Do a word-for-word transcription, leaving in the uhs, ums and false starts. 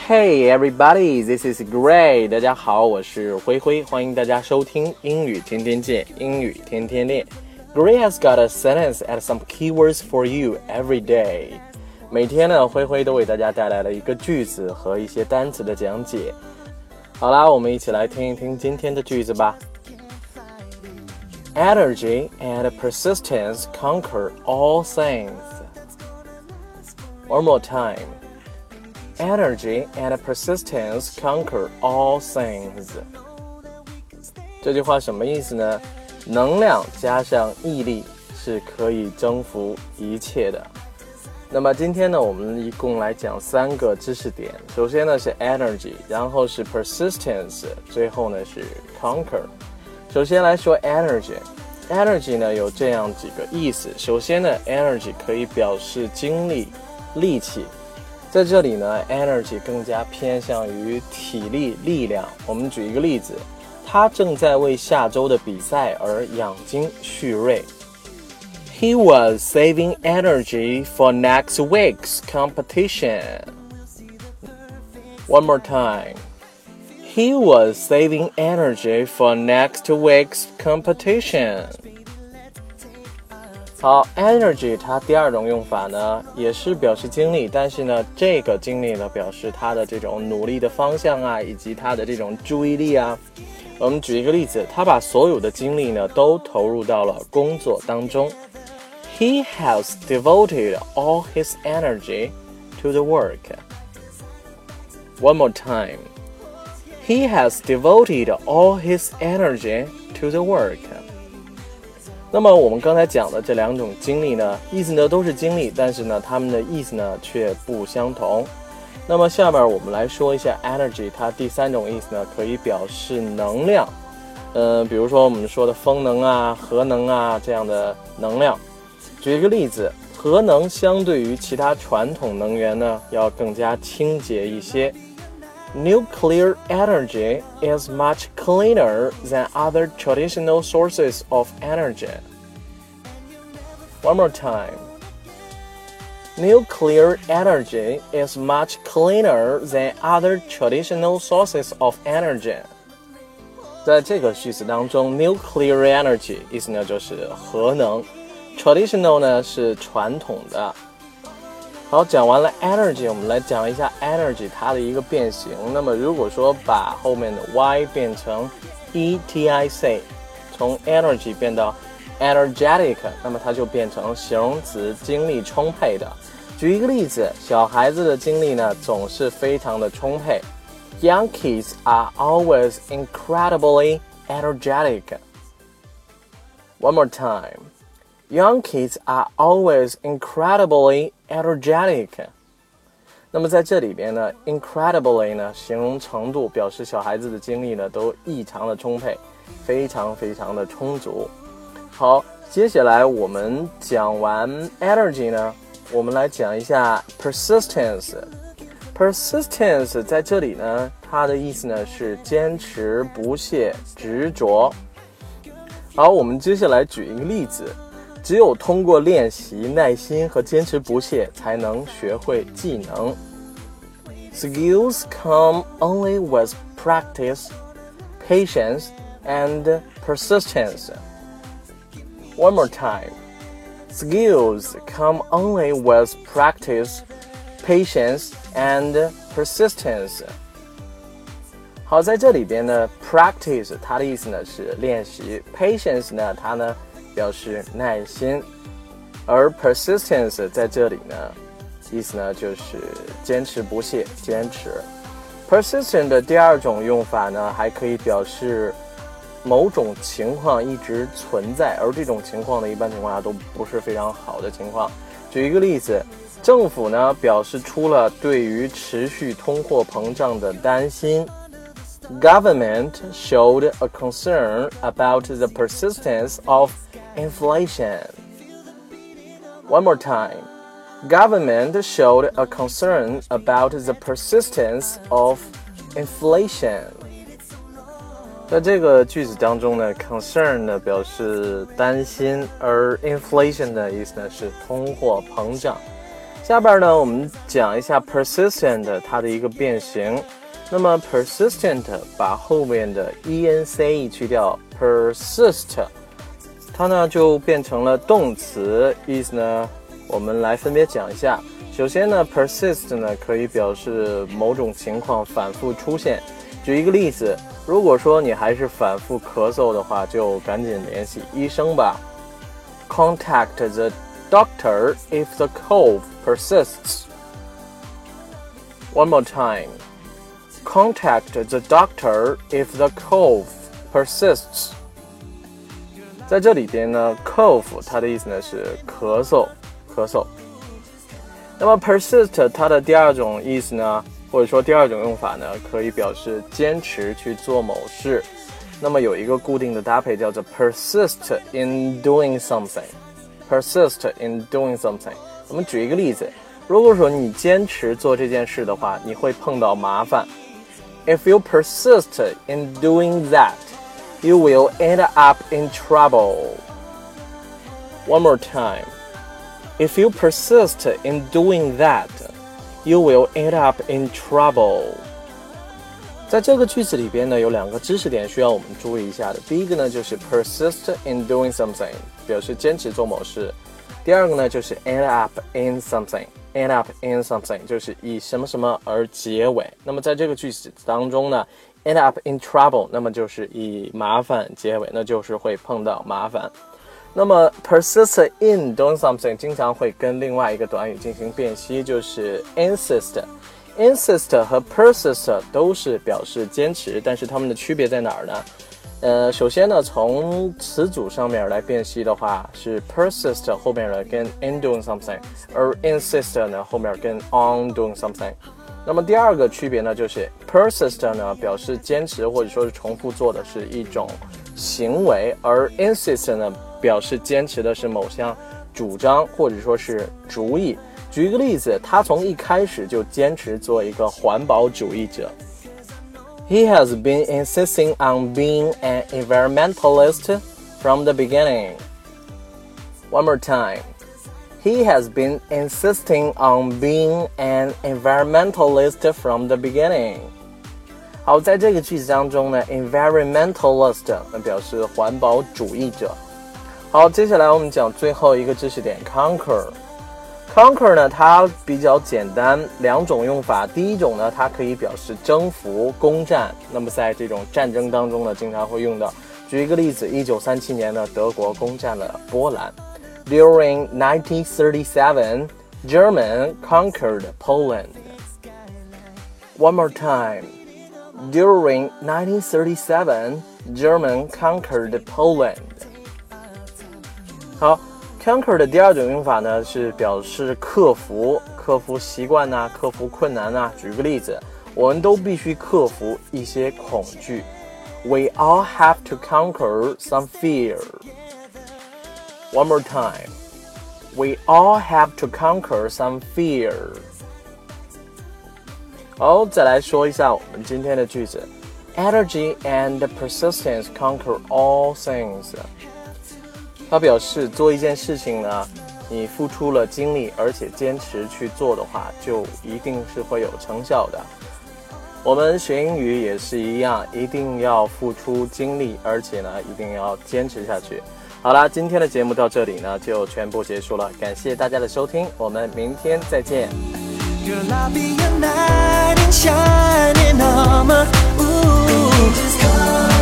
Hey everybody, this is Gray. 大家好，我是灰灰，欢迎大家收听英语天天见，英语天天练。Gray has got a sentence and some keywords for you every day. 每天呢，灰灰都为大家带来了一个句子和一些单词的讲解。好啦，我们一起来听一听今天的句子吧。Energy and persistence conquer all things. One more time.Energy and persistence conquer all things. 这句话什么意思呢？能量加上毅力是可以征服一切的。那么今天呢，我们一共来讲三个知识点。首先呢是 energy， 然后是 persistence， 最后呢是 conquer。首先来说 energy。energy 呢有这样几个意思。首先呢 energy 可以表示精力、力气。在这里呢 energy 更加偏向于体力力量。我们举一个例子，他正在为下周的比赛而养精蓄锐。He was saving energy for next week's competition. One more time. He was saving energy for next week's competition.好 energy 它第二种用法呢也是表示精力，但是呢这个精力呢表示它的这种努力的方向啊，以及它的这种注意力啊。我们举一个例子，他把所有的精力呢都投入到了工作当中。He has devoted all his energy to the work. One more time. He has devoted all his energy to the work.那么我们刚才讲的这两种精力呢，意思呢都是精力，但是呢它们的意思呢却不相同。那么下面我们来说一下 energy， 它第三种意思呢可以表示能量。呃，比如说我们说的风能啊、核能啊这样的能量。举一个例子，核能相对于其他传统能源呢要更加清洁一些。Nuclear energy is much cleaner than other traditional sources of energy. One more time. Nuclear energy is much cleaner than other traditional sources of energy. 在这个句子当中 nuclear energy 意思呢就是核能， traditional 呢是传统的。好，讲完了 energy， 我们来讲一下 energy 它的一个变形。那么如果说把后面的 y 变成 etic， 从 energy 变到 energetic， 那么它就变成形容词，精力充沛的。举一个例子，小孩子的精力呢总是非常的充沛。Young kids are always incredibly energetic. One more time.Young kids are always incredibly energetic. 那么在这里边呢 incredibly 呢形容程度，表示小孩子的精力呢都异常的充沛，非常非常的充足。好，接下来我们讲完 energy 呢，我们来讲一下 persistence. Persistence 在这里呢它的意思呢是坚持不懈执着。好，我们接下来举一个例子，只有通过练习、耐心和坚持不懈，才能学会技能。Skills come only with practice, patience, and persistence. One more time. Skills come only with practice, patience, and persistence. 好，在这里边呢 practice 它的意思呢是练习， patience 呢它呢表示耐心，而 persistence 在这里呢意思呢就是坚持不懈，坚持。 persistent 的第二种用法呢还可以表示某种情况一直存在，而这种情况呢一般情况下都不是非常好的情况。举一个例子，政府呢表示出了对于持续通货膨胀的担心。Government showed a concern about the persistence of inflation. One more time. Government showed a concern about the persistence of inflation. 在这个句子当中呢 concern 呢表示担心，而 inflation 的意思呢是通货膨胀。 下边呢，我们讲一下 persistent 它的一个变形。那么 persistent 把后面的 ence 去掉 persist， 它呢就变成了动词，意思呢我们来分别讲一下。首先呢 persist 呢可以表示某种情况反复出现。举一个例子，如果说你还是反复咳嗽的话，就赶紧联系医生吧。Contact the doctor if the cough persists. One more time. Contact the doctor if the cough persists. 在这里边呢 cough 它的意思呢是咳嗽咳嗽。那么 persist 它的第二种意思呢，或者说第二种用法呢，可以表示坚持去做某事。那么有一个固定的搭配叫做 persist in doing something。persist in doing something。我们举一个例子，如果说你坚持做这件事的话，你会碰到麻烦。If you persist in doing that, you will end up in trouble. One more time. If you persist in doing that, you will end up in trouble. 在这个句子里边呢，有两个知识点需要我们注意一下的。第一个呢，就是 persist in doing something， 表示坚持做某事。第二个呢，就是 end up in something。end up in something 就是以什么什么而结尾。那么在这个句子当中呢 end up in trouble 那么就是以麻烦结尾，那就是会碰到麻烦。那么 persist in doing something 经常会跟另外一个短语进行辨析，就是 insist。 insist 和 persist 都是表示坚持，但是它们的区别在哪儿呢？呃，首先呢，从词组上面来辨析的话，是 persist 后面呢跟 in doing something， 而 insist 呢后面跟 on doing something。那么第二个区别呢，就是 persist 呢表示坚持或者说是重复做的是一种行为，而 insist 呢表示坚持的是某项主张或者说是主意。举一个例子，他从一开始就坚持做一个环保主义者。He has been insisting on being an environmentalist from the beginning. One more time. He has been insisting on being an environmentalist from the beginning. 好，在这个句子当中呢 environmentalist 表示环保主义者。好，接下来我们讲最后一个知识点 conquer。conquer 呢它比较简单，两种用法。第一种呢它可以表示征服攻占，那么在这种战争当中呢经常会用到。举一个例子，一九三七年呢德国攻占了波兰。 During nineteen thirty-seven, Germany conquered Poland. One more time. During nineteen thirty-seven, Germany conquered Poland. 好，conquer 的第二种用法呢是表示克服，克服习惯啊，克服困难啊。举个例子，我们都必须克服一些恐惧。We all have to conquer some fear. One more time. We all have to conquer some fear. 好，再来说一下我们今天的句子。Energy and persistence conquer all things. 它表示做一件事情呢，你付出了精力，而且坚持去做的话，就一定是会有成效的。我们学英语也是一样，一定要付出精力，而且呢，一定要坚持下去。好啦，今天的节目到这里呢，就全部结束了。感谢大家的收听，我们明天再见。Girl, I'll be your knight in shining armor. Ooh,